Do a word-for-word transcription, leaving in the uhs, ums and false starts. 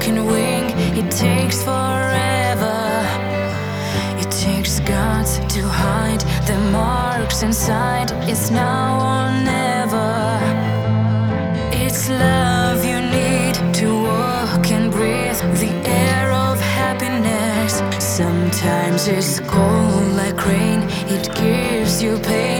broken wing. It takes forever. It takes guts to hide the marks inside. It's now or never. It's love you need to walk and breathe the air of happiness. Sometimes it's cold like rain. It gives you pain.